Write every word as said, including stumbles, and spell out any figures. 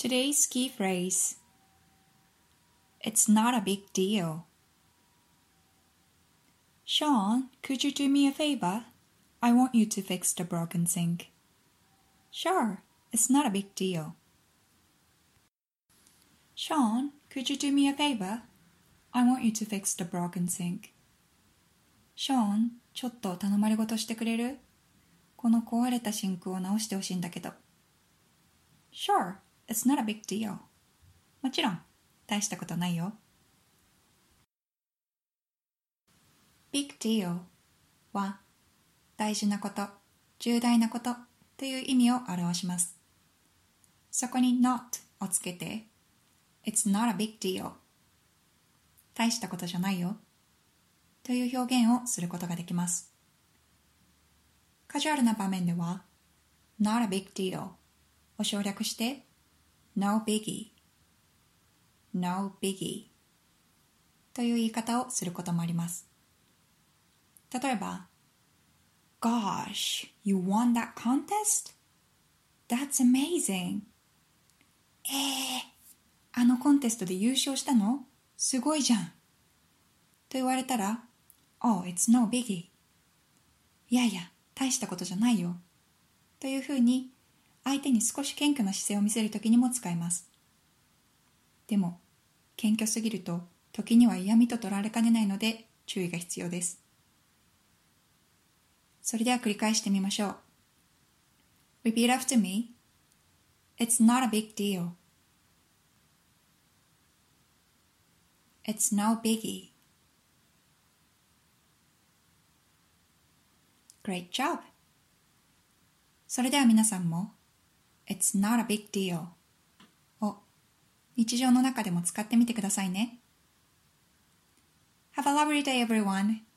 Today's key phrase. It's not a big deal. Sean, could you do me a favor? I want you to fix the broken sink. Sure, it's not a big deal. Sean, could you do me a favor? I want you to fix the broken sink. Sean,ちょっと頼まれ事してくれる？この壊れたシンクを直してほしいんだけど。Sure, it's not a big deal. もちろん、大したことないよ。Big deal は大事なこと、重大なことという意味を表します。そこに not をつけて It's not a big deal 大したことじゃないよという表現をすることができます。カジュアルな場面では not a big deal を省略して no biggie no biggie という言い方をすることもあります。例えば Gosh, you won that contest? That's amazing. えー、あのコンテストで優勝したの？すごいじゃん。と言われたら Oh, it's no biggie. いやいや、大したことじゃないよ。というふうに相手に少し謙虚な姿勢を見せるときにも使います。でも、謙虚すぎると時には嫌味と取られかねないので注意が必要です。それでは繰り返してみましょう。Repeat after me. It's not a big deal. It's no biggie. Great job. それでは皆さんも It's not a big deal を日常の中でも使ってみてくださいね。Have a lovely day, everyone.